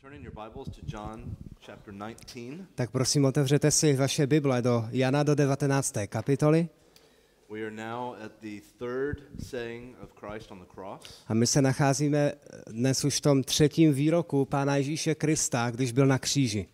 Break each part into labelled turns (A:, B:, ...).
A: Tak prosím, otevřete si vaše Bible do Jana do 19. kapitoly. A my se nacházíme dnes už v tom třetím výroku Pána Ježíše Krista, když byl na kříži.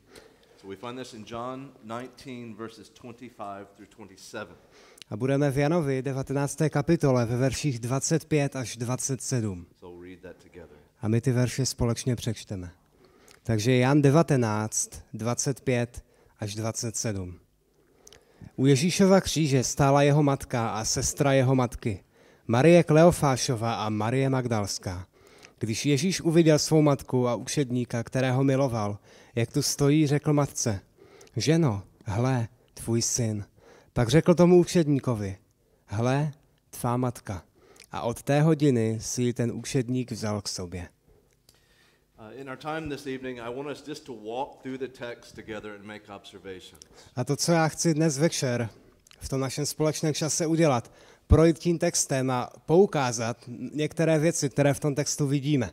A: A budeme v Janovi 19. kapitole ve verších 25 až 27. A my ty verše společně přečteme. Takže Jan 19, 25 až 27. U Ježíšova kříže stála jeho matka a sestra jeho matky, Marie Kleofášova a Marie Magdalská. Když Ježíš uviděl svou matku a učedníka, kterého miloval, jak tu stojí, řekl matce: Ženo, hle, tvůj syn. Pak řekl tomu učedníkovi: Hle, tvá matka. A od té hodiny si ji ten učedník vzal k sobě. A to, co já chci dnes večer v tom našem společném čase udělat, projít tím textem a poukázat některé věci, které v tom textu vidíme.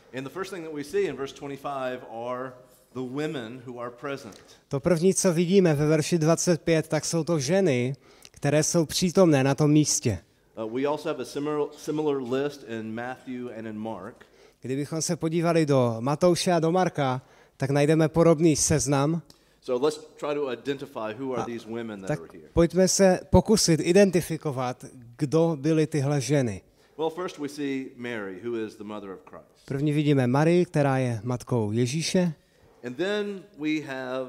A: To první, co vidíme ve verši 25, tak jsou to ženy, které jsou přítomné na tom místě.
B: We also have a similar list in Matthew and in Mark.
A: Kdybychom se podívali do Matouše a do Marka, tak najdeme podobný seznam.
B: So let's try to identify who are these women that are here.
A: Pojďme se pokusit identifikovat, kdo byly tyhle ženy.
B: Well, first we see Mary, who is the mother of Christ.
A: První vidíme Marii, která je matkou Ježíše.
B: And then we have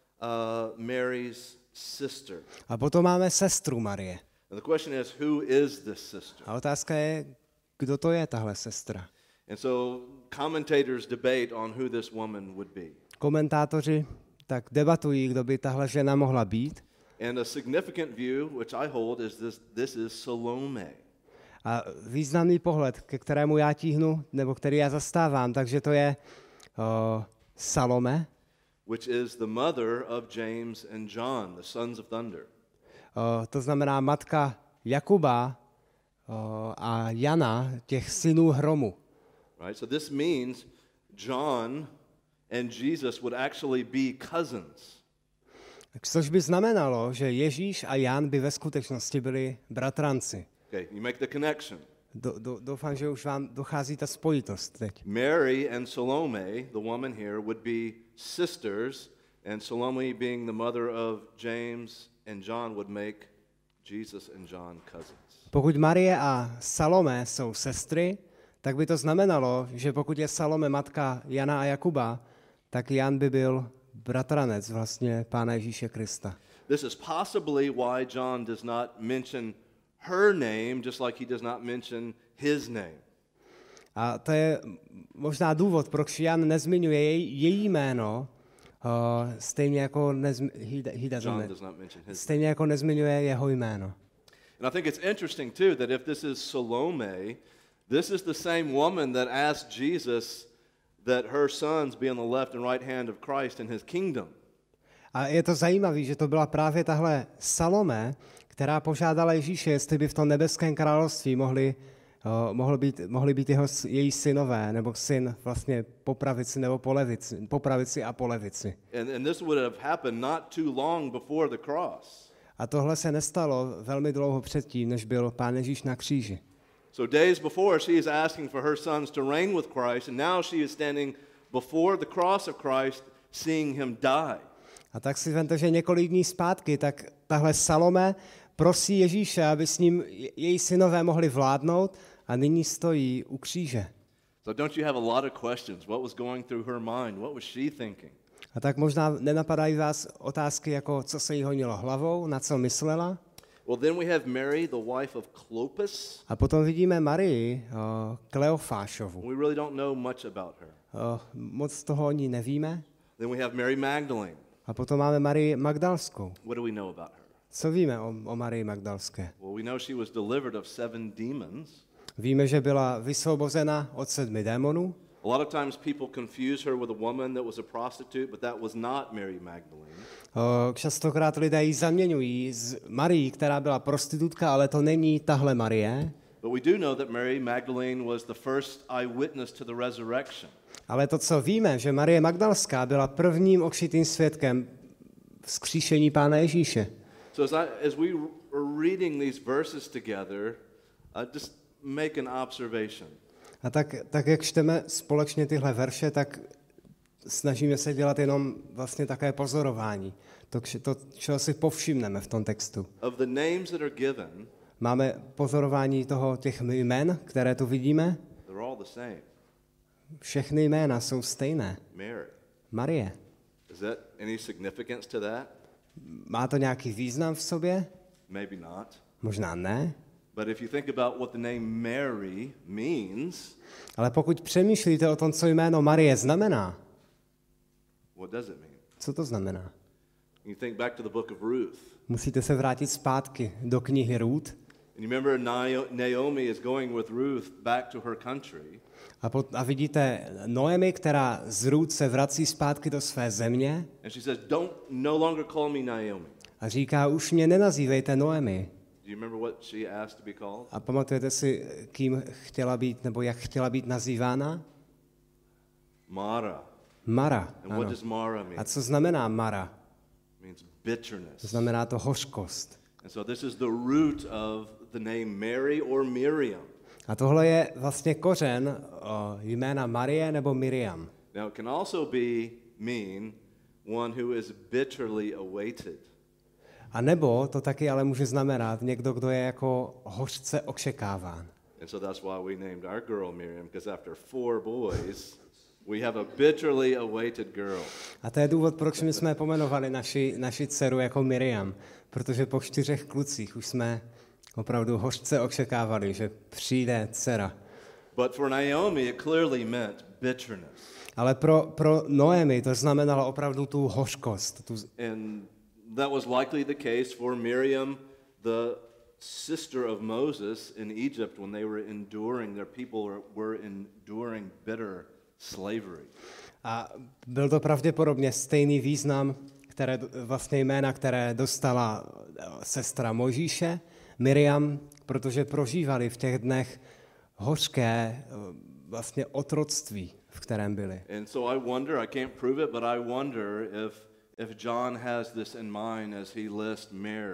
B: Mary's sister.
A: A potom máme sestru Marie.
B: And the question is, who is this sister?
A: A otázka je, kdo to je tahle sestra.
B: And so commentators debate on who this woman would be.
A: Komentátoři tak debatují, kdo by tahle žena mohla být.
B: And a significant view, which I hold, is this is Salome.
A: A významný pohled, ke kterému já tíhnu, nebo který já zastávám, takže to je Salome,
B: which is the mother of James and John, the sons of thunder.
A: To znamená matka Jakuba a Jana, těch synů hromu.
B: Right? So this means John and Jesus would actually be cousins.
A: Což by znamenalo, že Ježíš a Jan by ve skutečnosti byli bratranci.
B: Okay, you make the connection.
A: Doufám, že už vám dochází ta spojitost teď.
B: Mary and Salome, the woman here, would be sisters, and Salome being the mother of James and John would make Jesus and John cousins.
A: Pokud Marie a Salome jsou sestry, tak by to znamenalo, že pokud je Salome matka Jana a Jakuba, tak Jan by byl bratranec vlastně Pána Ježíše Krista.
B: This is possibly why John does not mention her name, just like he does not mention his name.
A: A to je možná důvod, proč Jan nezmiňuje její jméno, stejně jako stejně jako nezmiňuje jeho jméno.
B: And I think it's interesting too that if this is Salome, this is the same woman that asked Jesus that her sons be on the left and right hand of Christ in his kingdom.
A: A je to zajímavé, že to byla právě tahle Salome, která požádala Ježíše, jestli by v tom nebeském království mohli být její synové, nebo syn vlastně po pravici nebo po pravici a po levici.
B: And this would have happened not too long before the cross.
A: A tohle se nestalo velmi dlouho předtím, než byl Pán Ježíš na kříži.
B: So days before she is asking for her sons to reign with Christ, and now she is standing before the cross of Christ, seeing him die.
A: A tak si vemte, že několik dní zpátky, tak tahle Salome prosí Ježíše, aby s ním její synové mohli vládnout, a nyní stojí u kříže.
B: So don't you have a lot of questions? What was going through her mind? What was she thinking?
A: A tak možná nenapadají vás otázky, jako co se jí honilo hlavou, na co myslela.
B: Well, then we have Mary, the wife of Clopas.
A: A potom vidíme Marii Kleofášovu.
B: We really don't know much about her.
A: Moc toho o ní nevíme.
B: Then we have Mary Magdalene.
A: A potom máme Marii Magdalskou.
B: What do we know about her?
A: Co víme o Marii Magdalské?
B: Well, we know she was delivered of 7 demons.
A: Víme, že byla vysvobozena od 7 démonů.
B: A lot of times people confuse her with a woman that was a prostitute, but that was not Mary Magdalene.
A: Častokrát lidé ji zaměňují s Marií, která byla prostitutka, ale to není tahle Marie.
B: But we do know that Mary Magdalene was the first eyewitness to the resurrection.
A: Ale to, co víme, že Marie Magdalská byla prvním očitým svědkem vzkříšení Pána Ježíše.
B: So as we are reading these verses together, just make an observation.
A: A tak jak čteme společně tyhle verše, tak snažíme se dělat jenom vlastně také pozorování. To, čeho si povšimneme v tom textu.
B: Of the names that are given,
A: máme pozorování těch jmen, které tu vidíme.
B: They're all the same.
A: Všechny jména jsou stejné.
B: Mary.
A: Marie.
B: Is that any significance to that?
A: Má to nějaký význam v sobě?
B: Maybe not.
A: Možná ne.
B: But if you think about what the name Mary means,
A: ale pokud přemýšlíte o tom, co jméno Marie znamená,
B: what does it mean?
A: Co to znamená?
B: You think back to the book of Ruth.
A: Musíte se vrátit zpátky do knihy Ruth.
B: And you remember Naomi is going with Ruth back to her country.
A: A vidíte Noemi, která z Ruth se vrací zpátky do své země.
B: And she says, "Don't no longer call me Naomi."
A: A říká, už mě nenazývejte Noemi.
B: Do you remember what she asked to be called?
A: A pamatujete si, kým chtěla být, nebo jak chtěla být nazývána?
B: Mara.
A: Mara.
B: And what does Mara mean?
A: A co znamená Mara?
B: It means bitterness.
A: To znamená to hořkost.
B: And so this is the root of the name Mary or Miriam.
A: A tohle je vlastně kořen jména Marie nebo Miriam.
B: Now it can also mean one who is bitterly awaited.
A: A nebo to taky ale může znamenat někdo, kdo je jako hořce očekáván.
B: And so that's why we named our girl Miriam, because after 4 boys, we have a bitterly awaited girl.
A: A to je důvod, proč my jsme pomenovali naši dceru jako Miriam, protože po 4 klucích už jsme opravdu hořce očekávali, že přijde dcera.
B: But for Naomi it clearly meant bitterness.
A: Ale pro Noemi to znamenalo opravdu tu hořkost.
B: And that was likely the case for Miriam, the sister of Moses in Egypt, when they were enduring, their people were enduring bitter slavery.
A: A byl to pravděpodobně stejný význam, vlastně jména, které dostala sestra Mojžíše, Miriam, protože prožívali v těch dnech hořké vlastně otroctví, v kterém byli.
B: And so I wonder, I can't prove it, but I wonder if John has this in mind as he lists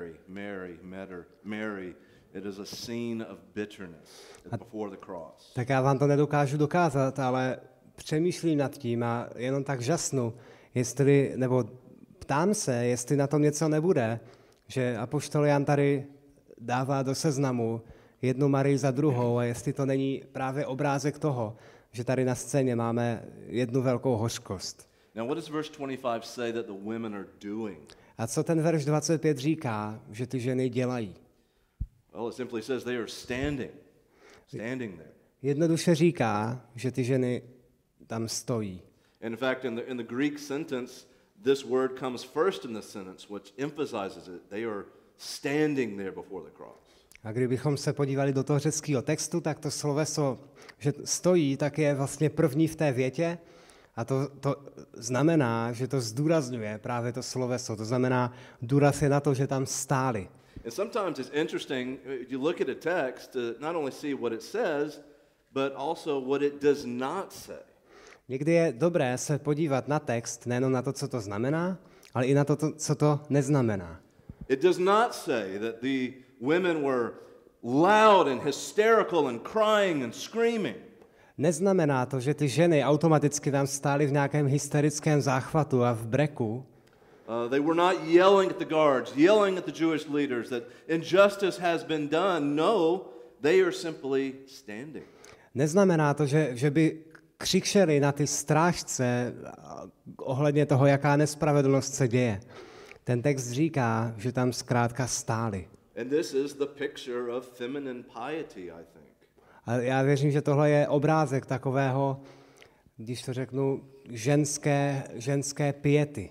B: Mary, it is a scene of bitterness before the cross.
A: Tak já vám to nedokážu dokázat, ale přemýšlím nad tím a jenom tak žasnu, nebo ptám se, jestli na tom něco nebude, že apoštol Jan tady dává do seznamu jednu Marii za druhou a jestli to není právě obrázek toho, že tady na scéně máme jednu velkou hořkost.
B: Now what does verse 25 say that the women are doing?
A: A co ten verš 25 říká, že ty ženy dělají?
B: Well, it simply says they are standing there.
A: Jednoduše říká, že ty ženy tam stojí.
B: In fact, in the Greek sentence, this word comes first in the sentence, which emphasizes it. They are standing there before the cross.
A: A kdybychom se podívali do toho řeckého textu, tak to sloveso, že stojí, tak je vlastně první v té větě a to znamená, že to zdůrazňuje právě to sloveso. To znamená, důraz je na to, že tam stáli.
B: And sometimes it's interesting, you look at a text to not only see what it says, but also what it does not say.
A: Někdy je dobré se podívat na text, nejenom na to, co to znamená, ale i na to, co to neznamená.
B: It does not say that the women were loud and hysterical and crying and screaming.
A: Neznamená to, že ty ženy automaticky tam stály v nějakém hysterickém záchvatu a v breku.
B: They were not yelling at the guards, yelling at the Jewish leaders that injustice has been done. No, they are simply standing.
A: Neznamená to, že by křičeli na ty strážce ohledně toho, jaká nespravedlnost se děje. Ten text říká, že tam zkrátka stáli.
B: And this is the picture of feminine piety, I think.
A: A já věřím, že tohle je obrázek takového, když to řeknu, ženské piety.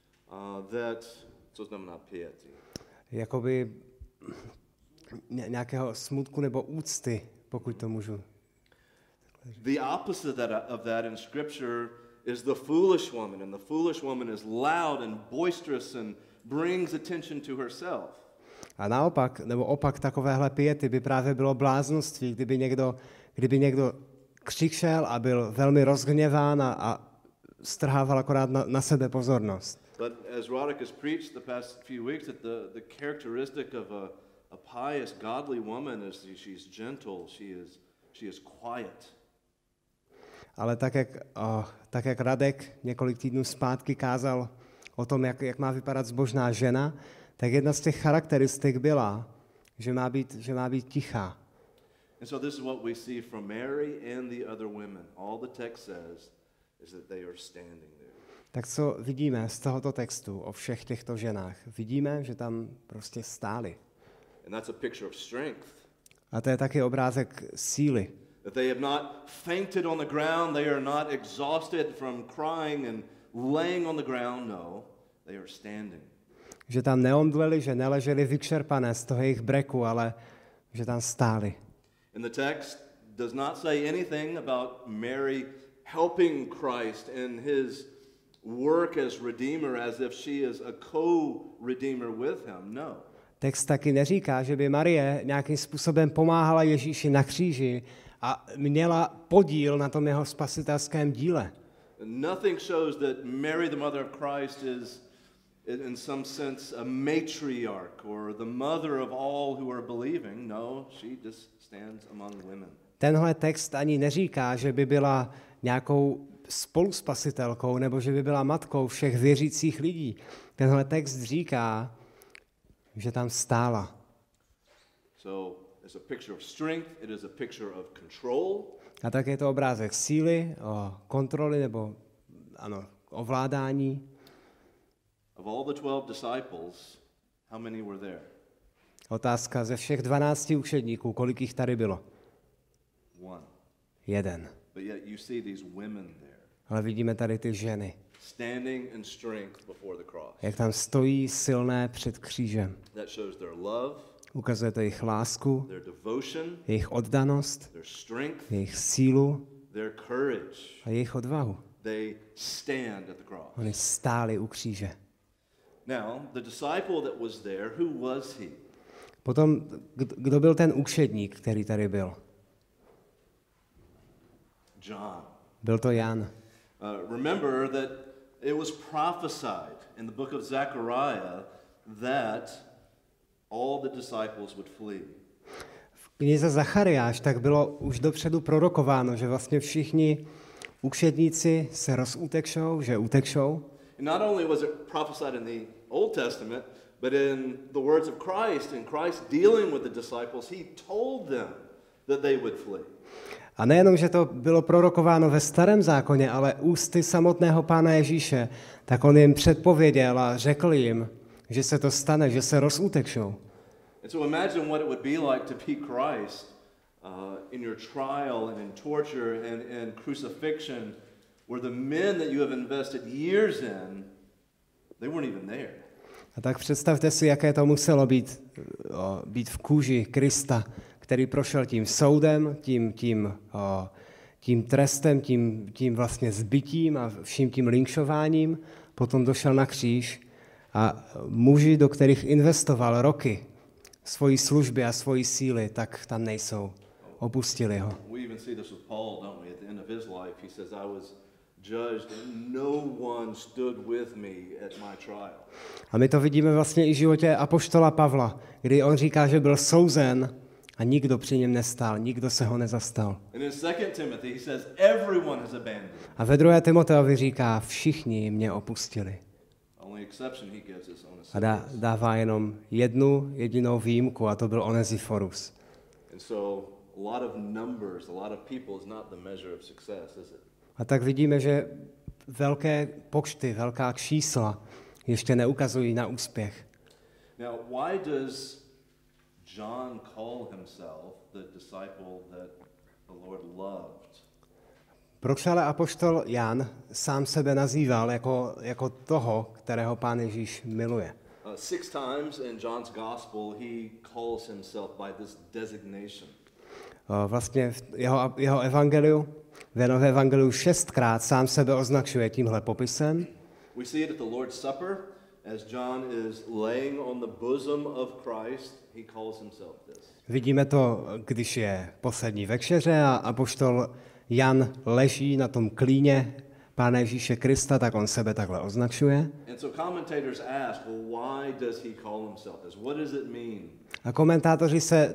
B: Co znamená piety?
A: Jakoby nějakého smutku nebo úcty, pokud to můžu.
B: The opposite of that in Scripture is the foolish woman, and the foolish woman is loud and boisterous and brings attention to herself.
A: A naopak, nebo opak takovéhle piety by právě bylo bláznoství, kdyby někdo křičel a byl velmi rozhněván a strhával akorát na sebe pozornost.
B: But as Roderick has preached the past few weeks, that the characteristic of a pious, godly woman is she's gentle, she is quiet.
A: Ale tak jak Radek několik týdnů zpátky kázal o tom, jak má vypadat zbožná žena, tak jedna z těch charakteristik byla, že má být tichá.
B: And so this is what we see from Mary and the other women. All the text says is that they are standing there.
A: Tak co vidíme z tohoto textu o všech těchto ženách? Vidíme, že tam prostě stály.
B: And that's a picture of strength.
A: A to je taky obrázek síly.
B: That they have not fainted on the ground, they are not exhausted from crying and laying on the ground, no, they are standing.
A: Že tam neomdleli, že neleželi vyčerpané z toho jejich breku, ale že tam stáli.
B: And the text does not say anything about Mary helping Christ in his work as Redeemer, as if she is a co-redeemer with him, no.
A: Text taky neříká, že by Marie nějakým způsobem pomáhala Ježíši na kříži a měla podíl na tom jeho spasitelském díle.
B: Nothing shows that Mary, the mother of Christ, is in some sense a matriarch or the mother of all who are believing. No, she just stands among women.
A: Tenhle text ani neříká, že by byla nějakou spoluspasitelkou nebo že by byla matkou všech věřících lidí. Tenhle text říká, že tam stála.
B: So, it's a picture of strength, it is a picture of control.
A: A tak je to obrázek síly, kontroly nebo ovládání.
B: Of all the 12 disciples, how many were there?
A: Otázka ze všech 12 učedníků, kolik jich tady bylo?
B: One.
A: Jeden.
B: But yet you see these women there.
A: Ale vidíme tady ty ženy.
B: Standing in strength before the cross.
A: Jak tam stojí silné před křížem.
B: That shows their love,
A: ukazuje to jejich lásku,
B: their devotion,
A: jejich oddanost,
B: their strength,
A: jejich sílu
B: their courage.
A: a jejich odvahu.
B: They stand at the cross.
A: Oni stáli u kříže.
B: Now, the disciple that was there, who was he?
A: Potom, kdo byl ten učedník, který tady byl?
B: John.
A: Byl to Jan.
B: Remember that it was prophesied in the book of Zechariah that all the disciples would flee.
A: V knize Zachariáš tak bylo už dopředu prorokováno, že vlastně všichni učedníci se rozutečou, že utečou.
B: And not only was it prophesied in the Old Testament, but in the words of Christ, and Christ dealing with the disciples, he told them that they would flee.
A: A nejenom, že to bylo prorokováno ve Starém zákoně, ale ústy samotného Pána Ježíše, tak on jim předpověděl a řekl jim, že se to stane, že se rozutečou.
B: And so imagine what it would be like to be Christ in your trial and in torture and in crucifixion, where the men that you have invested years in, they weren't even there.
A: A tak představte si, jaké to muselo být v kůži Krista, který prošel tím soudem, tím trestem, tím vlastně zbytím a vším tím linčováním, potom došel na kříž a muži, do kterých investoval roky svojí služby a svojí síly, tak tam nejsou. Opustili ho.
B: We even see this with Paul, don't we? At the end of his life, he says, I was judged and no one stood with me at my trial.
A: A my to vidíme vlastně i v životě apoštola Pavla, kdy on říká, že byl souzen a nikdo při něm nestál, nikdo se ho nezastal.
B: And in 2 Timothy, he says, everyone has abandoned.
A: A ve 2. Timoteovi říká, všichni mě opustili.
B: Only exception he gives is
A: A
B: Onesiphorus.
A: dává jenom jednu jedinou výjimku a to byl Onesiphorus.
B: And so a lot of numbers, a lot of people is not the measure of success, is it?
A: A tak vidíme, že velké počty, velká čísla ještě neukazují na úspěch.
B: Now, why does John call himself the disciple that the Lord loved?
A: Proč ale apoštol Jan sám sebe nazýval jako toho, kterého Pán Ježíš miluje?
B: 6 times in John's gospel he calls himself by this designation.
A: Vlastně v jeho evangeliu, v Janově evangeliu 6krát sám sebe označuje tímhle popisem.
B: We see it at the Lord's Supper as John is laying on the bosom of Christ, he calls himself this.
A: Vidíme to, když je poslední večeře a apoštol Jan leží na tom klíně Pána Ježíše Krista, tak on sebe takhle označuje.
B: And so commentators ask, well, why does he call himself this? What does it mean?
A: A komentátoři se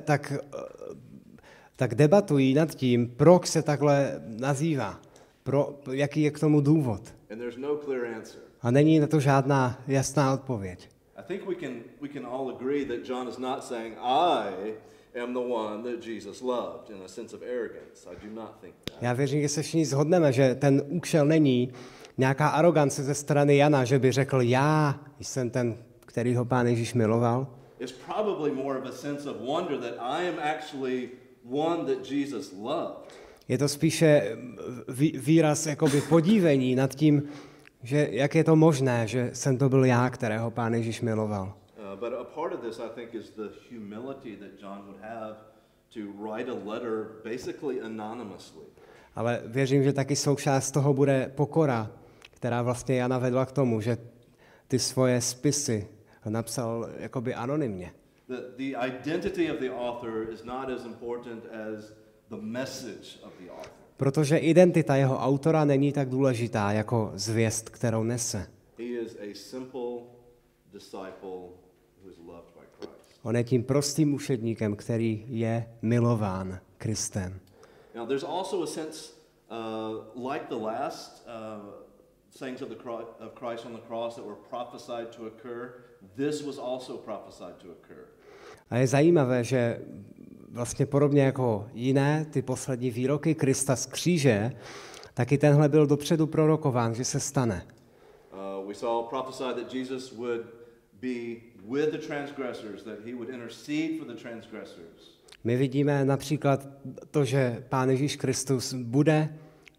A: tak debatují nad tím, proč se takhle nazývá, jaký je k tomu důvod.
B: And there's no clear answer.
A: A není na to žádná jasná odpověď.
B: I think we can all agree that John is not saying, I am the one that Jesus loved in a sense of arrogance. I do not think that.
A: Já věřím, že se všichni shodneme, že ten účel není nějaká arogance ze strany Jana, že by řekl, já jsem ten, který ho Pán Ježíš miloval.
B: It's probably more of a sense of wonder that I am actually one that Jesus loved.
A: Je to spíše výraz jakoby podívení nad tím, že jak je to možné, že jsem to byl já, kterého Pán Ježíš miloval.
B: But a part of this, I think, is the humility that John would have to write a letter basically anonymously.
A: Ale věřím, že taky součást toho bude pokora, která vlastně Jana vedla k tomu, že ty svoje spisy napsal jakoby anonymně.
B: The identity of the author is not as important as the message of the author.
A: Protože identita jeho autora není tak důležitá jako zvěst, kterou nese.
B: He is a simple disciple who is loved by Christ.
A: On je tím prostým učedníkem, který je milován Kristem.
B: Now there's also a sense like the last sayings of Christ on the cross that were prophesied to occur, this was also prophesied to occur.
A: A je zajímavé, že vlastně podobně jako jiné ty poslední výroky Krista z kříže, taky tenhle byl dopředu prorokován, že se stane.
B: We saw prophesied that Jesus would be with the transgressors, that he would intercede for the transgressors.
A: My vidíme například to, že Pán Ježíš Kristus bude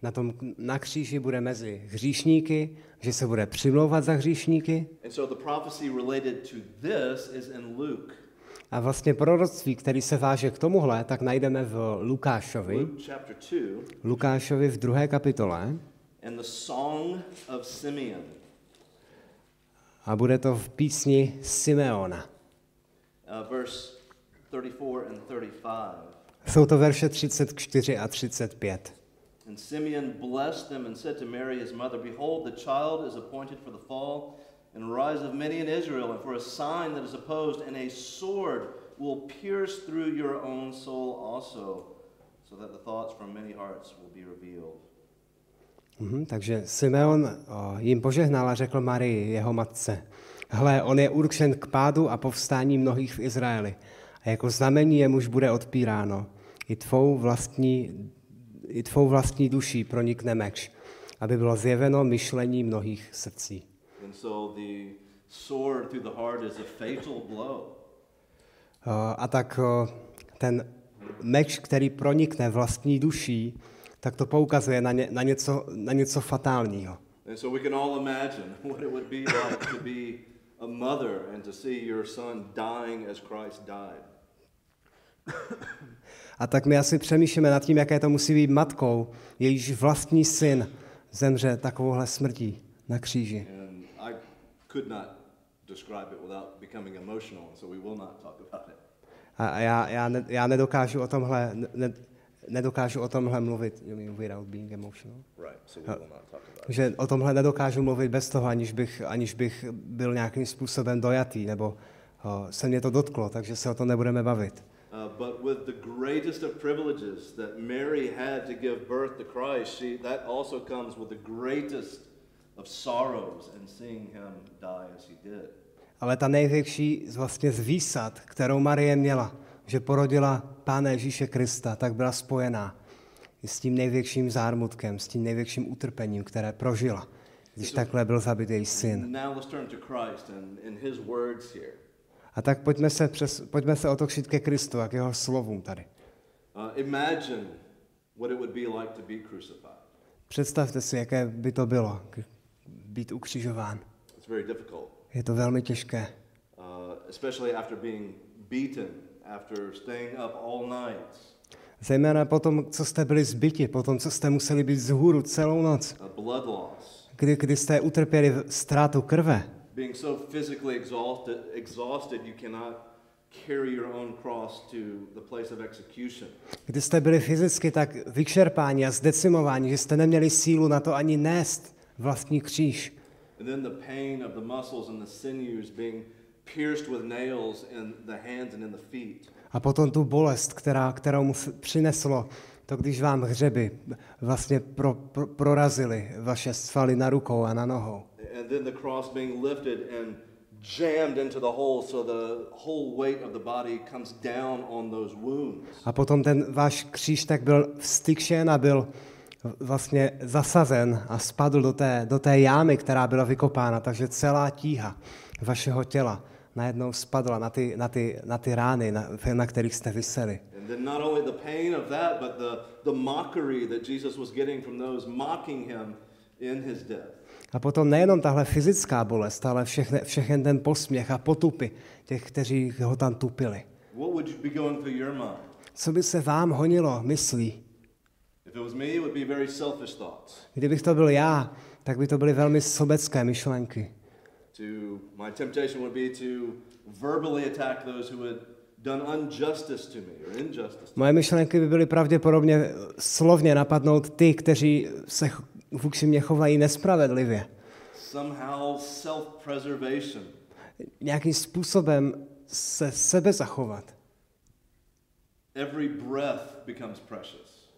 A: na kříži, bude mezi hříšníky, že se bude přimlouvat za hříšníky.
B: And so the prophecy related to this is in Luke.
A: A vlastně proroctví, který se váže k tomuhle, tak najdeme v Lukášovi v 2. kapitole.
B: And the song of Simeon.
A: A bude to v písni Simeona.
B: Verse 34 and 35.
A: Jsou to verše 34 a 35.
B: And Simeon blessed them and said to Mary his mother, behold, the child is appointed for the fall and rise of many in Israel, and for a sign that is opposed, and a sword will pierce through your own soul also, so that the thoughts from many hearts will be revealed.
A: Takže Simeon jim požehnal a řekl Marii, jeho matce, hle, on je určen k pádu a povstání mnohých v Izraeli, a jako znamení jemuž bude odpíráno, i tvou vlastní duší pronikne meč, aby bylo zjeveno myšlení mnohých srdcí.
B: And so the sword through the heart is a fatal blow.
A: A tak ten meč, který pronikne vlastní duší, tak to poukazuje na něco fatálního.
B: And so we can all imagine what it would be like to be a mother and to see your son dying as Christ died.
A: A tak my asi přemýšlíme nad tím, jaké to musí být matkou, jejíž vlastní syn zemře takovouhle smrtí na kříži.
B: Could not describe it without becoming emotional, so we will not talk about it.
A: A já nedokážu o tomhle mluvit, without being emotional.
B: Right, so we will not talk about it.
A: Že o tomhle nedokážu mluvit bez toho, aniž bych byl nějakým způsobem dojatý, nebo se mě to dotklo, takže se o tom nebudeme bavit.
B: But with the greatest of privileges that Mary had to give birth to Christ, that also comes with the greatest of sorrows and seeing him die as he did.
A: Ale ta největší vlastně z výsad, kterou Marie měla, že porodila Pána Ježíše Krista, tak byla spojená i s tím největším zármutkem, s tím největším utrpením, které prožila, když takhle byl zabit její syn.
B: Now let's turn to Christ and his words here.
A: A tak pojďme se otočit ke Kristu a k jeho slovům tady.
B: Imagine what it would be like to be crucified.
A: Představte si, jaké by to bylo být ukřižován.
B: It's very difficult.
A: Je to velmi těžké.
B: Especially after being beaten, after staying up all night.
A: Zejména po tom, co jste byli zbyti, po tom, co jste museli být vzhůru celou noc.
B: Blood loss.
A: Kdy jste utrpěli ztrátu krve.
B: being so physically exhausted you cannot carry your own cross to the place of execution.
A: Když jste byli fyzicky tak vyčerpáni a zdecimováni, že jste neměli sílu na to ani nést vlastní kříž.
B: And then the pain of the muscles and the sinews being pierced with nails in the hands and in the feet.
A: A potom tu bolest, kterou mu přineslo to, když vám hřeby vlastně prorazily vaše svaly na rukou a na nohou.
B: And then the cross being lifted and jammed into the hole, so the whole weight of the body comes down on those wounds.
A: A potom ten váš kříž tak byl vstykšen a byl vlastně zasazen a spadl do té jámy, která byla vykopána, takže celá tíha vašeho těla najednou spadla na ty rány, na kterých jste viseli.
B: And then not only the pain of that, but the mockery that Jesus was getting from those mocking him in his death.
A: A potom nejenom tahle fyzická bolest, ale všechen ten posměch a potupy těch, kteří ho tam tupili.
B: What would be going through your mind?
A: Co by se vám honilo myslí?
B: If it was me, it would be very selfish thoughts.
A: Kdybych to byl já, tak by to byly velmi sobecké myšlenky.
B: My temptation would be to verbally attack those who had done injustice to me or injustice.
A: Moje myšlenky by byly pravděpodobně slovně napadnout ty, kteří se vůči mě chovají nespravedlivě.
B: Somehow self-preservation.
A: Nějakým způsobem se sebe zachovat.
B: Every breath becomes precious.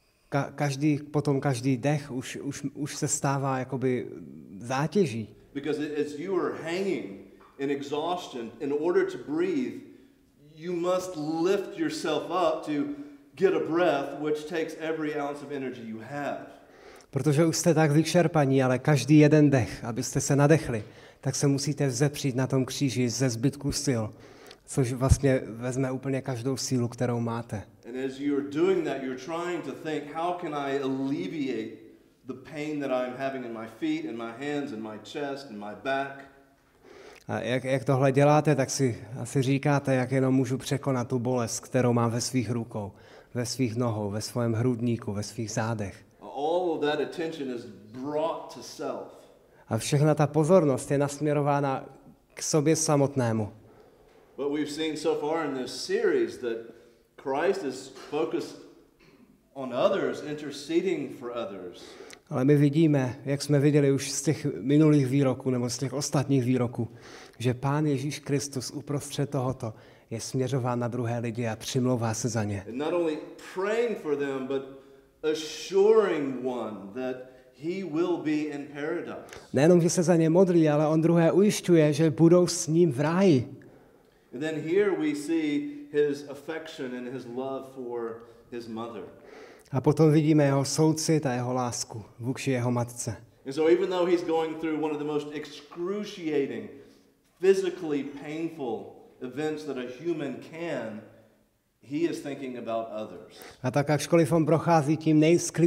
A: Každý dech už se stává jakoby zátěží.
B: Because as you are hanging in exhaustion, in order to breathe, you must lift yourself up to get a breath, which takes every ounce of energy you have.
A: Protože už jste tak vyčerpaní, ale každý jeden dech, abyste se nadechli, tak se musíte vzepřít na tom kříži ze zbytku sil, což vlastně vezme úplně každou sílu, kterou máte.
B: And as you're doing that, you're trying to think, how can I alleviate the pain that I'm having in my feet, in my hands, in my chest, in my back?
A: A jak tohle děláte, tak si asi říkáte, jak jenom můžu překonat tu bolest, kterou mám ve svých rukou, ve svých nohou, ve svém hrudníku, ve svých zádech.
B: All of that attention is brought to self.
A: A všechna ta pozornost je nasměrována k sobě samotnému.
B: But we've seen so far in this series that Christ is focused on others, interceding for others.
A: Ale my vidíme, jak jsme viděli už z těch minulých výroků nebo z těch ostatních výroků, že Pán Ježíš Kristus uprostřed tohoto je směřován na druhé lidi a přimlouvá se za ně.
B: And not only praying for them, but assuring one that he will be in paradise.
A: Nejenom, že se za ně modlí, ale on druhé ujišťuje, že budou s ním v ráji.
B: And then here we see his affection and his love for his mother.
A: A potom vidíme jeho soucit a jeho lásku vůči jeho matce.
B: And so even though he's going through one of the most excruciating, physically painful events that a human can, he is thinking about others.
A: A tak ačkoliv on prochází tím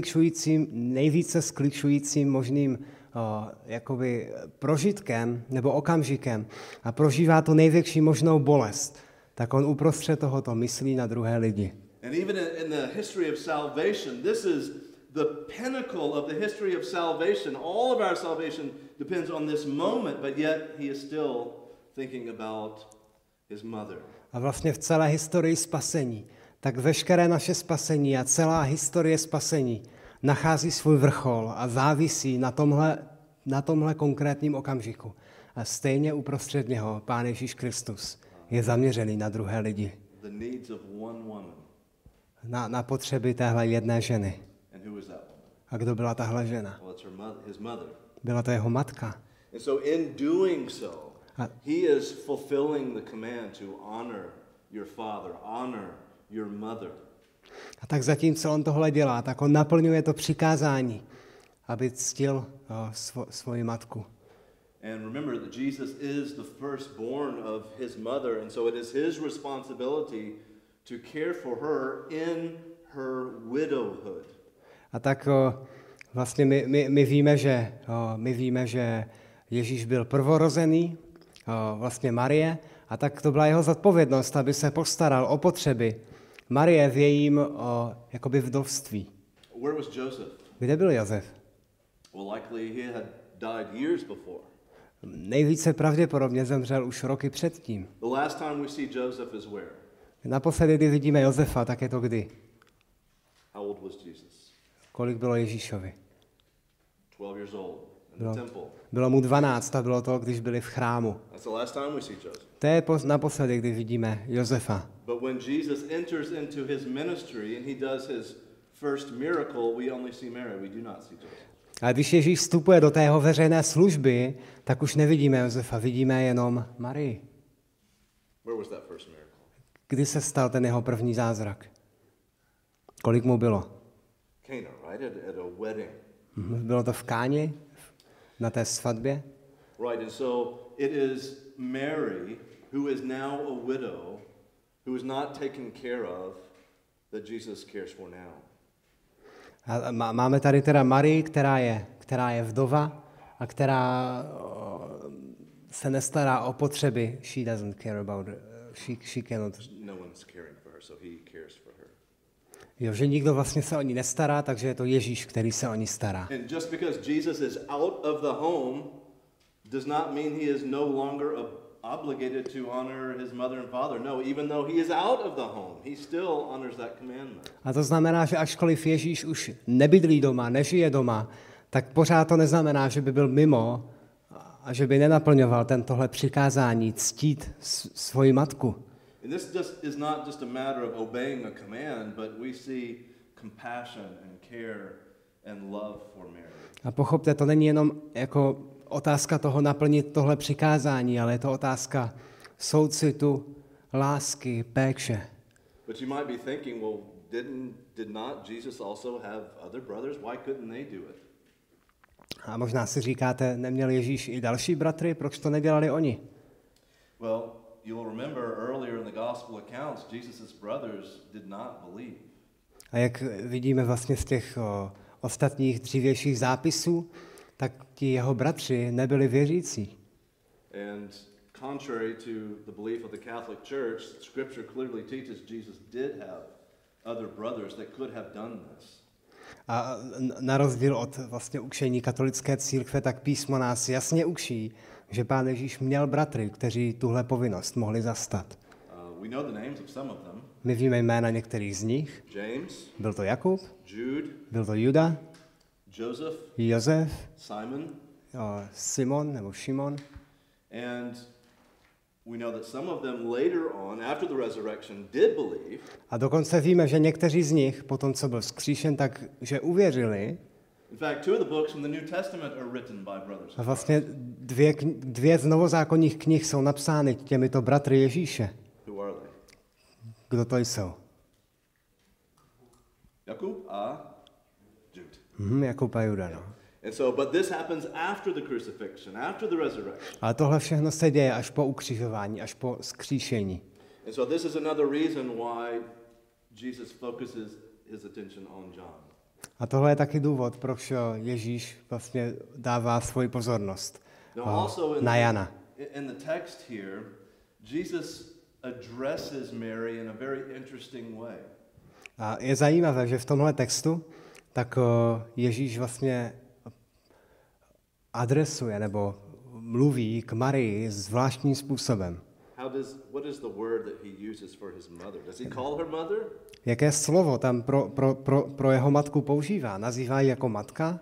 A: nejvíce skličujícím možným jakoby prožitkem nebo okamžikem a prožívá tu největší možnou bolest, tak on uprostřed tohoto myslí na druhé lidi.
B: And even in the history of salvation, this is the pinnacle of the history of salvation. All of our salvation depends on this moment, but yet he is still thinking about his mother.
A: A vlastně v celé historii spasení, tak veškeré naše spasení a celá historie spasení nachází svůj vrchol a závisí na tomhle konkrétním okamžiku. A stejně uprostřed něho Pán Ježíš Kristus je zaměřený na druhé lidi.
B: The needs of one woman.
A: Na potřeby téhle jedné ženy.
B: And who is that woman?
A: A kdo byla tahle žena?
B: Well, it's his mother.
A: Byla to jeho matka.
B: And so in doing so, he is fulfilling the command to honor your father, honor your mother.
A: A tak zatímco on tohle dělá, tak on naplňuje to přikázání, aby ctil svoji matku.
B: And remember that Jesus is the firstborn of his mother, and so it is his responsibility to care for her in her widowhood.
A: A tak vlastně my víme, že Ježíš byl prvorozený, vlastně Marie, a tak to byla jeho zodpovědnost, aby se postaral o potřeby Marie v jejím jakoby vdovství.
B: Where was Joseph?
A: Kde byl Josef?
B: Well, likely he had died years before.
A: nejvíce pravděpodobně zemřel už roky předtím.
B: The last time we see Joseph is where?
A: Naposledy, kdy vidíme Josefa, tak je to kdy?
B: How old was Jesus?
A: Kolik bylo Ježíšovi?
B: 12 years old in the temple.
A: Bylo mu 12 a bylo to, když byli v chrámu.
B: That's the last time we see Joseph.
A: To je naposledy, kdy vidíme Josefa.
B: But when Jesus enters into his ministry and he does his first miracle, we only see Mary. We do not see Joseph.
A: A když Ježíš vstupuje do té jeho veřejné služby, tak už nevidíme Josefa, vidíme jenom Marii.
B: Where was that first miracle?
A: Kdy se stal ten jeho první zázrak? Kolik mu bylo?
B: Cana, right? At a wedding.
A: Bylo to v Káni, na té svatbě.
B: Right, and so it is Mary, who is now a widow, who is not taken care of, that Jesus cares for now.
A: A máme tady teda Marii, která je vdova a která se nestará o potřeby. She doesn't care about she cannot.
B: No one's caring for her, so he cares for her.
A: Jo, že nikdo vlastně se o ní nestará, takže je to Ježíš, který se o ní stará.
B: And just because Jesus is out of the home does not mean he is no longer obligated to honor his mother and father. No, even though he is out of the home, he still honors that commandment.
A: A to znamená, že ačkoliv Ježíš už nebydlí doma, nežije doma, tak pořád to neznamená, že by byl mimo a že by nenaplňoval tohle přikázání ctít svoji matku.
B: And this just is not just a matter of obeying a command, but we see compassion and care and love for Mary.
A: A pochopte, to není jenom jako otázka toho naplnit tohle přikázání, ale je to otázka soucitu, lásky, péče.
B: But you might be thinking, well, did not Jesus also have other brothers? Why couldn't they do it?
A: A možná si říkáte, neměl Ježíš i další bratry, proč to nedělali oni?
B: Well, you'll remember earlier in the gospel accounts, Jesus' brothers did not believe.
A: A jak vidíme vlastně z těch ostatních dřívějších zápisů, tak ti jeho bratři nebyli věřící.
B: And contrary to the belief of the Catholic Church, Scripture clearly teaches Jesus did have other brothers that could have done this.
A: A na rozdíl od vlastně učení katolické církve, tak písmo nás jasně učí, že Pán Ježíš měl bratry, kteří tuhle povinnost mohli zastat.
B: We know the names of some of them.
A: My víme jména některých z nich.
B: James,
A: Byl to Jakub,
B: Jude,
A: byl to Juda,
B: Joseph,
A: Josef,
B: Simon,
A: Simon nebo Šimon.
B: and we know that some of them later on, after the resurrection, did believe.
A: A dokonce víme, že někteří z nich, po tom, co byl vzkříšen, tak že uvěřili.
B: In fact, two of the books from the New Testament are written by brothers.
A: A vlastně dvě z novozákonních knih jsou napsány těmito bratry Ježíše.
B: Who are they?
A: Kdo to jsou?
B: Jakub a Jude.
A: Jakub a Juda, no.
B: And so, but this happens after the crucifixion, after the resurrection.
A: Ale tohle všechno se děje až po ukřižování, až po vzkříšení.
B: And so this is another reason why Jesus focuses his attention on John.
A: A tohle je taky důvod, proč Ježíš vlastně dává svoji pozornost na Jana.
B: In the text here, Jesus addresses Mary in a very interesting way.
A: A je zajímavé, že v tomhle textu tak Ježíš vlastně adresuje nebo mluví k Marii zvláštním způsobem.
B: What is the word that he uses for his mother? Does he call her mother?
A: Jaké slovo tam pro jeho matku používá? Nazývá ji jako matka?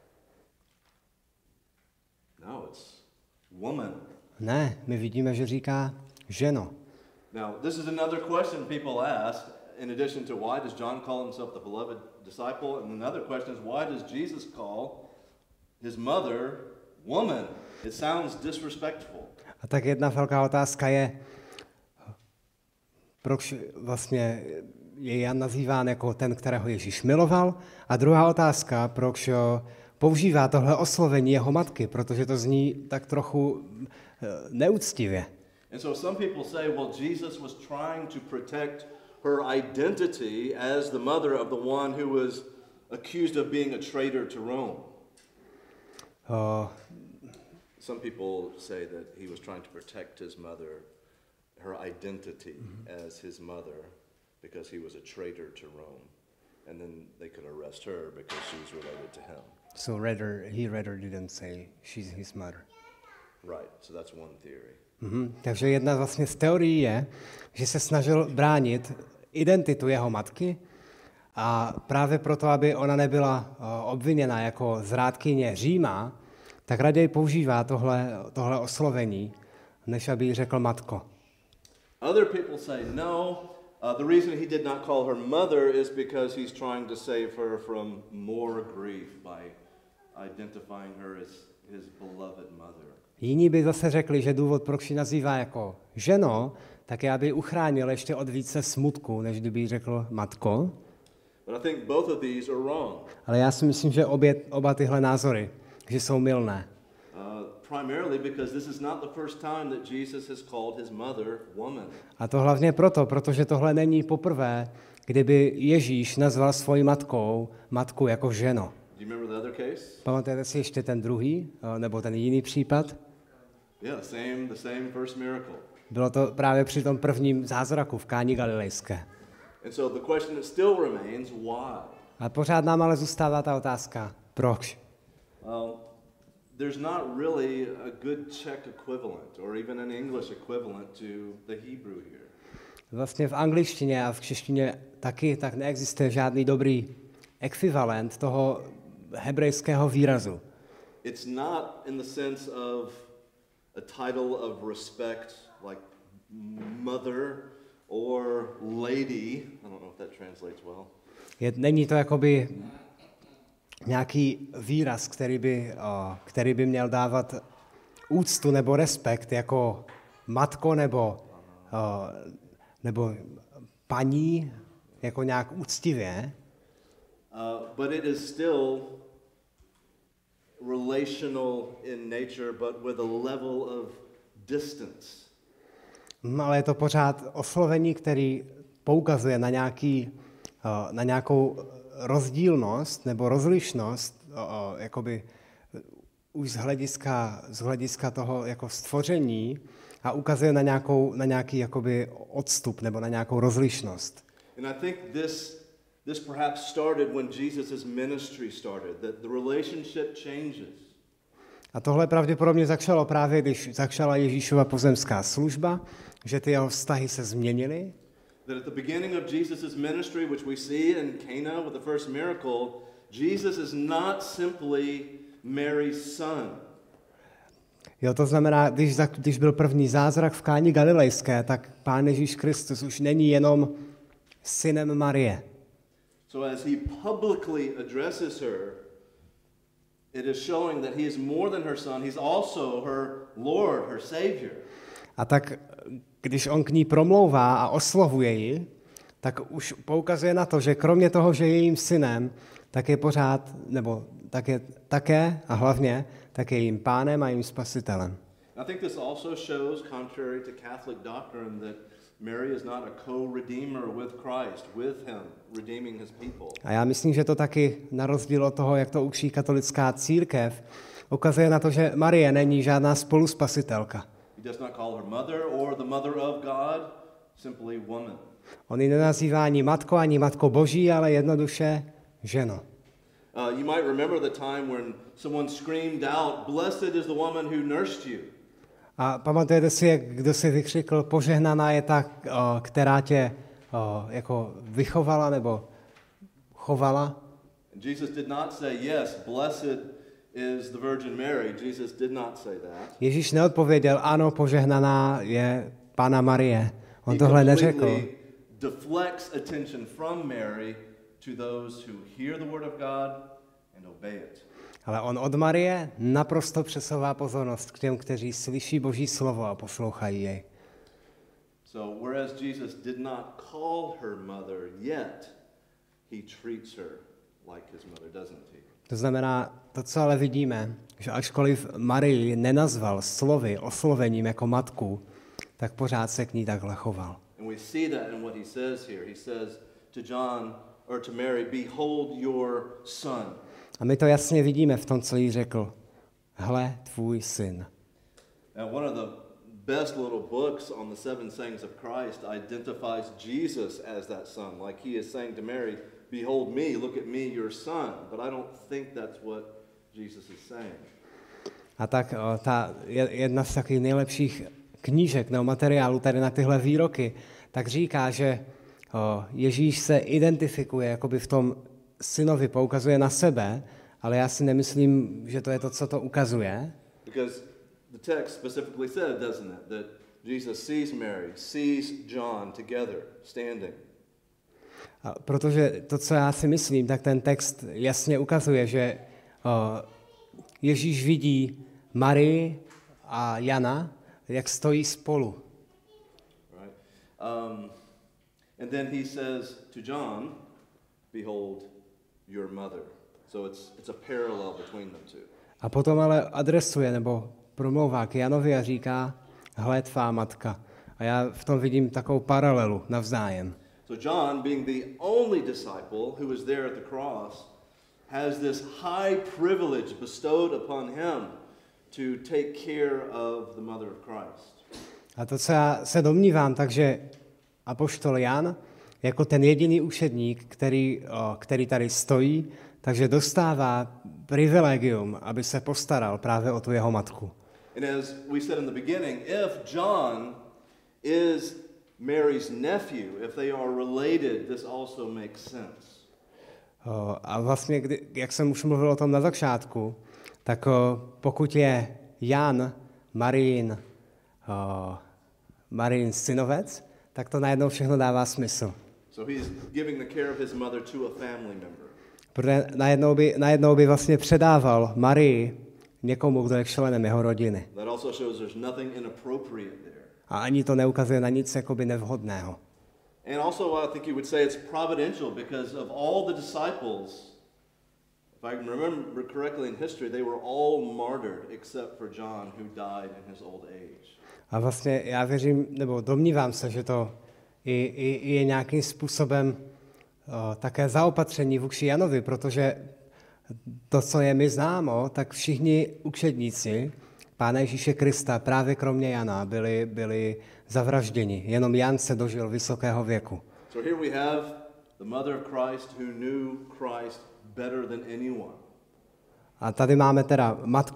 B: No, it's woman.
A: Ne, my vidíme, že říká ženo.
B: Now, this is another question people ask, in addition to why does John call himself the beloved disciple, and another question is why does Jesus call his mother woman? It sounds disrespectful.
A: A tak jedna velká otázka je, proč vlastně je Jan nazýván jako ten, kterého Ježíš miloval, a druhá otázka, proč používá tohle oslovení jeho matky, protože to zní tak trochu neúctivě.
B: And so some people say, well, Jesus was trying to protect her identity as the mother of the one who was accused of being a traitor to Rome. Some people say that he was trying to protect his mother, her identity as his mother, because he was a traitor to Rome. And then they could arrest her because she was related to him.
A: So he rather didn't say she's his mother.
B: Right, so that's one theory.
A: Takže jedna vlastně z teorií je, že se snažil bránit identitu jeho matky a právě proto, aby ona nebyla obviněna jako zrádkyně Říma, tak raději používá tohle oslovení, než aby jí řekl matko.
B: Other people say no. The reason he did not call her mother is because he's trying to save her from more grief by identifying her as his beloved mother.
A: Jiní by zase řekli, že důvod, proč ji nazývá jako ženo, tak je, aby ji uchránil ještě od více smutku, než kdyby jí řekl matko.
B: But I think both of these are wrong.
A: Ale já si myslím, že oba tyhle názory, že jsou mylné.
B: Primarily because this is not the first time that Jesus has called his mother woman.
A: A to hlavně proto, protože tohle není poprvé, kdyby Ježíš nazval svoji matku jako ženo.
B: Do you remember the other case?
A: Pamatujete si ještě ten druhý, nebo ten jiný případ?
B: Yeah, the same first miracle.
A: Bylo to právě při tom prvním zázraku v Káni Galilejské.
B: And so the question that still remains, why?
A: A pořád nám ale zůstává ta otázka, proč?
B: There's not really a good Czech equivalent or even an English equivalent to the Hebrew here.
A: Vlastně v angličtině a v češtině taky tak neexistuje žádný dobrý ekvivalent toho hebrejského výrazu.
B: It's not in the sense of a title of respect like mother or lady. I don't know if that translates well.
A: Není to jakoby nějaký výraz, který by měl dávat úctu nebo respekt jako matko nebo paní, jako nějak úctivě.
B: But it is still relational in nature, but with a level of distance.
A: Ale je to pořád oslovení, který poukazuje na nějakou rozdílnost nebo rozlišnost, jakoby už z hlediska toho jako stvoření a ukazuje na nějaký jakoby odstup nebo na nějakou rozlišnost.
B: And I think this perhaps started when Jesus' ministry started, that the relationship changes.
A: A tohle pravděpodobně začalo právě, když začala Ježíšova pozemská služba, že ty jeho vztahy se změnily.
B: That at the beginning of Jesus' ministry, which we see in Cana with the first miracle, Jesus is not simply Mary's son.
A: Jo, to znamená, když byl první zázrak v Káni Galilejské, tak Pán Ježíš Kristus už není jenom synem Marie.
B: So as he publicly addresses her, it is showing that he is more than her son, he's also her Lord, her Savior.
A: A tak když on k ní promlouvá a oslovuje ji, tak už poukazuje na to, že kromě toho, že je jejím synem, tak je pořád, nebo tak je také a hlavně, tak je jejím pánem a jejím spasitelem.
B: I think this also shows, contrary to Catholic doctrine, that Mary is not a co-redeemer with Christ, with him, redeeming his people.
A: A já myslím, že to taky na rozdíl od toho, jak to učí katolická církev, ukazuje na to, že Marie není žádná spoluspasitelka.
B: He does not call her mother or the mother of God, simply woman.
A: On ji nenazývá ani matko Boží, ale jednoduše ženo.
B: You might remember the time when someone screamed out, "Blessed is the woman who nursed you."
A: A pamatujete si, jak kdo si vykřikl, požehnaná je ta, která tě jako vychovala nebo chovala?
B: Jesus did not say, "Yes, blessed is the Virgin Mary." Jesus did not say that.
A: Ježíš neodpověděl, ano, požehnaná je Panna Marie. On tohle neřekl.
B: Deflects attention from Mary to those who hear the word of God and obey it.
A: Ale on od Marie naprosto přesouvá pozornost k těm, kteří slyší Boží slovo a poslouchají jej.
B: So whereas Jesus did not call her mother yet, he treats her like his mother, doesn't he?
A: To znamená, to, co ale vidíme, že ačkoliv Marii nenazval oslovením jako matku, tak pořád se k ní takhle choval.
B: And we see that in what he says here. He says to John or to Mary, "Behold your son."
A: A my to jasně vidíme v tom, co jí řekl. Hle, tvůj syn.
B: And one of the best little books on the seven sayings of Christ identifies Jesus as that son. Like he is saying to Mary, "Behold me, look at me, your son." But I don't think that's what Jesus is saying.
A: A tak jedna z takových nejlepších knížek nebo materiálů tady na tyhle výroky, tak říká, že Ježíš se identifikuje, jakoby v tom synovi poukazuje na sebe, ale já si nemyslím, že to je to, co to ukazuje.
B: Because the text specifically said, doesn't it, that Jesus sees Mary, sees John together, standing.
A: Protože to, co já si myslím, tak ten text jasně ukazuje, že Ježíš vidí Marii a Jana, jak stojí spolu.
B: Right. And then he says to John, behold your mother. So it's a parallel between them two.
A: A potom ale adresuje nebo promlouvá k Janovi a říká, hle tvá matka. A já v tom vidím takovou paralelu navzájem.
B: So John, being the only disciple who was there at the cross, has this high privilege bestowed upon him to take care of the mother of Christ.
A: A to, co já se domnívám, takže apoštol Jan, jako ten jediný učedník, který tady stojí, takže dostává privilegium, aby se postaral právě o tu jeho matku.
B: And as we said in the beginning, if John is Mary's nephew, if they are related, this also makes sense.
A: A vlastně, jak jsem už mluvil o tom na začátku, tak pokud je Jan Marijin synovec, tak to najednou všechno dává smysl.
B: So he's giving the care of his mother to a family member.
A: Protože najednou by vlastně předával Marii někomu, kdo je členem jeho rodiny.
B: That also shows there's nothing inappropriate there.
A: A ani to neukazuje na nic jakoby nevhodného.
B: And also I think you would say it's providential because of all the disciples, if I can remember correctly in history, they were all martyred except for John who died in his old age.
A: A vlastně já věřím, nebo domnívám se, že to je nějakým způsobem také zaopatření vůči Janovi, protože to, co je mi známo, tak všichni učedníci Pána Ježíše Krista, právě kromě Jana, byli zavražděni. Jenom Jan se dožil vysokého věku.
B: So here we have the mother of Christ who knew Christ better than anyone.
A: A tady máme teda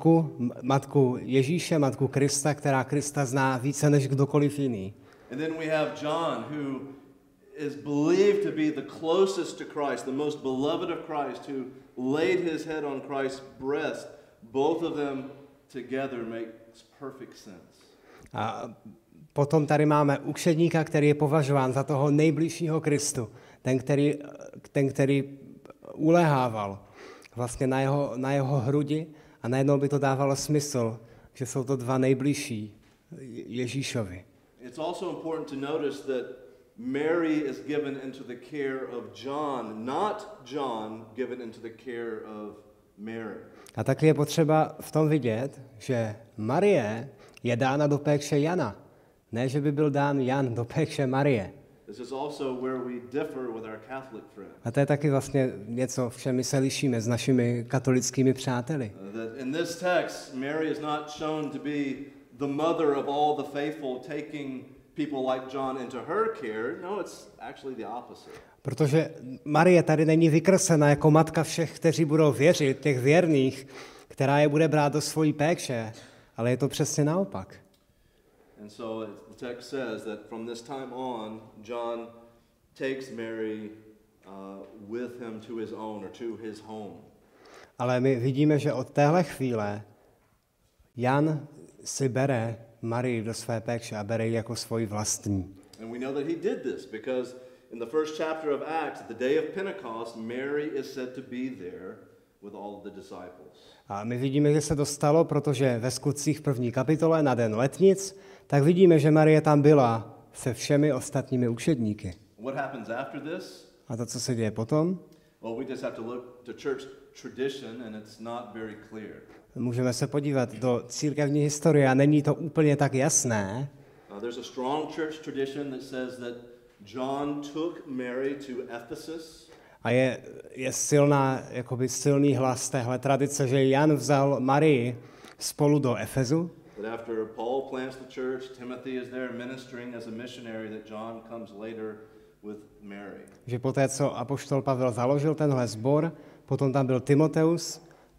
A: matku Ježíše, matku Krista, která Krista zná více než kdokoliv jiný.
B: And then we have John who is believed to be the closest to Christ, the most beloved of Christ, who laid his head on Christ's breast. Both of them together makes perfect sense. A
A: potom tady máme učedníka, který je považován za toho nejbližšího Kristu, ten, který ulehával vlastně na jeho hrudi a najednou by to dávalo smysl, že jsou to dva nejbližší Ježíšovi.
B: It's also important to notice that Mary is given into the care of John, not John given into the care of Mary.
A: A taky je potřeba v tom vidět, že Marie je dána do péče Jana, ne, že by byl dán Jan do péče Marie.
B: This is also where we differ with our Catholic friends.
A: A to je taky vlastně něco, v čem my se lišíme s našimi katolickými přáteli.
B: That in this text, Mary is not shown to be the mother of all the faithful, taking people like John into her care. No, it's actually the opposite.
A: Protože Marie tady není vykreslena jako matka všech, kteří budou věřit, těch věrných, která je bude brát do svojí péče, ale je to přesně naopak.
B: And so the text says that from this time on, John takes Mary with him to his own or to his home.
A: Ale my vidíme, že od téhle chvíle Jan si bere Marii do své péče a bere ji jako svoji vlastní.
B: And we know that he did this because in the first chapter of Acts, at the day of Pentecost, Mary is said to be there with all of the disciples.
A: A my vidíme, že se to stalo, protože ve Skutcích v 1. kapitole na den letnic, tak vidíme, že Marie tam byla se všemi ostatními učedníky.
B: What happens after this?
A: A to, co se děje potom?
B: Well, we just have to look to church tradition and it's not very clear.
A: Můžeme se podívat do církevní historie a není to úplně tak jasné.
B: There's a strong church tradition that says that John took Mary to Ephesus.
A: A je silný hlas téhle tradice, že Jan vzal Marii spolu do Efezu.
B: That after Paul plants the church, Timothy is there ministering as a missionary, that John comes later with Mary.
A: Že poté, co apoštol Pavel založil tenhle sbor, potom tam byl Timoteus,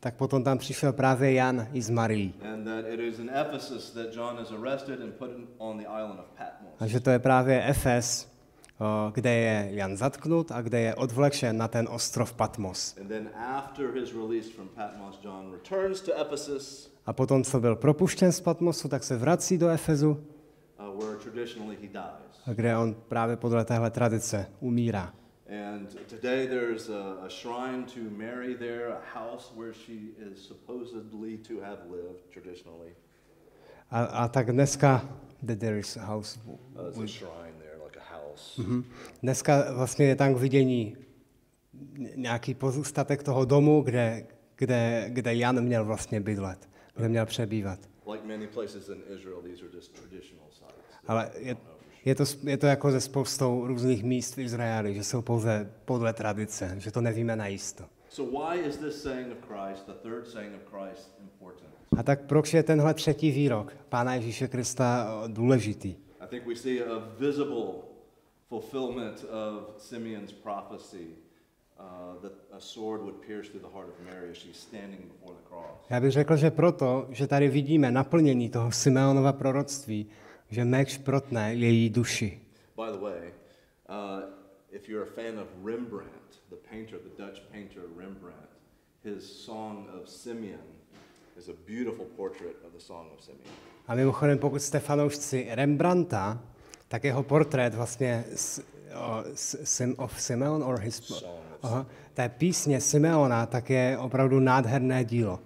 A: tak potom tam přišel právě Jan i s Marií.
B: And that it is in Ephesus that John is arrested and put on the island of Patmos.
A: A že to je právě Efes, kde je Jan zatknut a kde je odvlečen na ten ostrov Patmos.
B: And then after his release from Patmos, John returns to Ephesus.
A: A potom, co byl propuštěn z Patmosu, tak se vrací do Efezu,
B: Where traditionally he dies.
A: a kde on právě podle téhle tradice umírá.
B: And today there's a shrine to Mary there, a house where she is supposedly to have lived traditionally.
A: A tak dneska, there is a house.
B: It's a shrine there, like a house.
A: Dneska vlastně je tam k vidění nějaký pozůstatek toho domu, kde Jan měl vlastně bydlet, kde měl přebývat.
B: Like many places in Israel, these are just traditional sites.
A: Ale je to jako ze spoustou různých míst v Izraeli, že jsou pouze podle tradice, že to nevíme najisto.
B: So why is this saying of Christ, the third saying of Christ, important?
A: A tak proč je tenhle třetí výrok Pána Ježíše Krista důležitý?
B: I think we see a visible fulfillment of Simeon's prophecy that a sword would pierce through the heart of Mary as she's standing before the cross.
A: Já bych řekl, že proto, že tady vidíme naplnění toho Simeonova proroctví, že meč protne její duši.
B: By the way, if you're a fan of Rembrandt, the painter, the Dutch painter Rembrandt, his Song of Simeon is a beautiful portrait of the Song of Simeon.
A: A mimochodem, pokud jste fanoušci Rembrandta, tak jeho portrét vlastně of Simeon or his té písně Simeona, tak je opravdu nádherné dílo.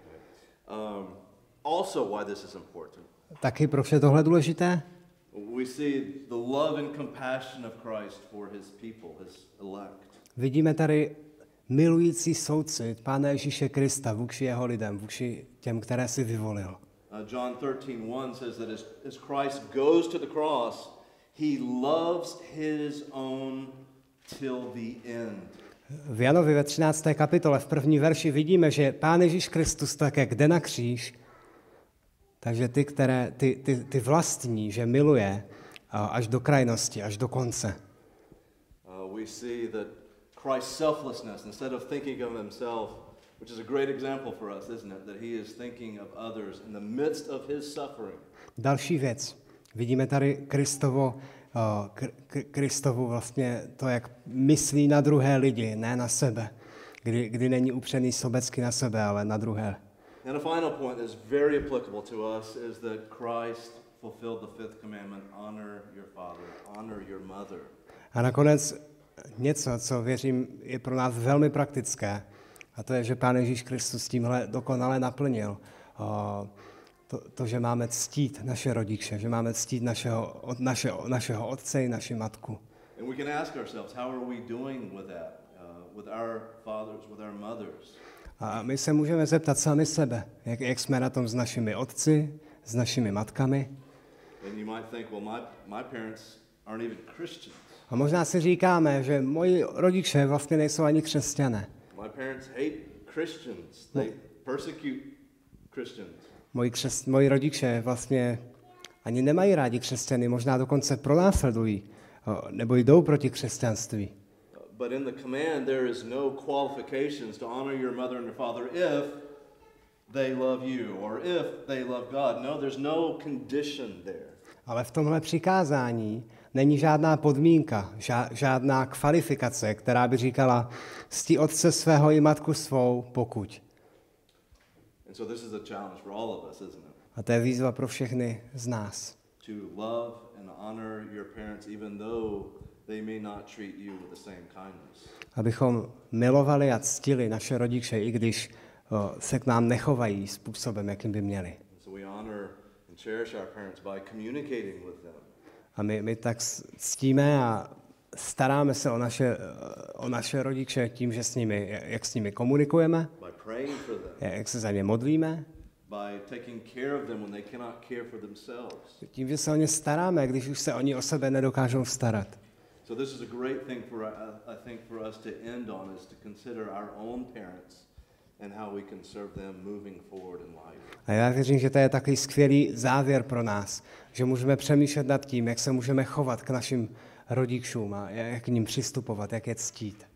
B: Also why this is important.
A: Taky proč je tohle důležité?
B: We see the love and compassion of Christ for his people, his elect.
A: Vidíme tady milující soucit Pána Ježíše Krista vůči jeho lidem, vůči těm, které si vyvolil.
B: John 13:1 says that as Christ goes to the cross, he loves his own till the end.
A: V Janovi ve 13. kapitole v první verši vidíme, že Pán Ježíš Kristus také jde na kříž, takže ty vlastní, že miluje až do krajnosti, až do konce.
B: We see that Christ's selflessness, instead of thinking of himself, which is a great example for us, isn't it? That he is thinking of others in the midst of his suffering.
A: Další věc. Vidíme tady Kristovu vlastně to, jak myslí na druhé lidi, ne na sebe. Kdy není upřený sobecky na sebe, ale na druhé.
B: And a final point that is very applicable to us is that Christ fulfilled the fifth commandment, honor your father, honor your mother. A
A: nakonec něco, co věřím je pro nás velmi praktické, a to je, že Pán Ježíš Kristus tímhle dokonale naplnil to, že máme ctít naše rodiče, že máme ctít našeho otce i naši matku.
B: And we can ask ourselves, how are we doing with that, with our fathers, with our mothers?
A: A my se můžeme zeptat sami sebe, jak jsme na tom s našimi otci, s našimi matkami.
B: And you might think, well, my parents aren't even Christians.
A: A možná si říkáme, že moji rodiče vlastně nejsou ani křesťané.
B: My parents hate Christians. They persecute Christians.
A: Moji rodiče vlastně ani nemají rádi křesťany, možná dokonce pronásledují, nebo jdou proti křesťanství.
B: But in the command there is no qualifications to honor your mother and your father if they love you or if they love God. No, there's no condition there.
A: Ale v tomhle přikázání není žádná podmínka, žádná kvalifikace, která by říkala cti otce svého i matku svou, pokud.
B: And so this is a challenge for all of us, isn't it?
A: A to je výzva pro všechny z nás.
B: To love and honor your parents even though they may not treat you with the same kindness.
A: Abychom milovali a ctili naše rodiče, i když se k nám nechovají způsobem, jakým by měli.
B: So we honor and cherish our parents by communicating with them.
A: A my tak ctíme a staráme se o naše rodiče tím, že jak s nimi komunikujeme,
B: by praying for them,
A: jak se za ně modlíme,
B: by taking care of them when they cannot care for themselves.
A: Tím, že se o ně staráme, když už se oni o sebe nedokážou starat.
B: So this is a great thing I think for us to end on is to consider our own parents and how we can serve them moving forward in life.
A: A já věřím, že to je takový skvělý závěr pro nás, že můžeme přemýšlet nad tím, jak se můžeme chovat k našim rodičům a jak k nim přistupovat, jak je ctít.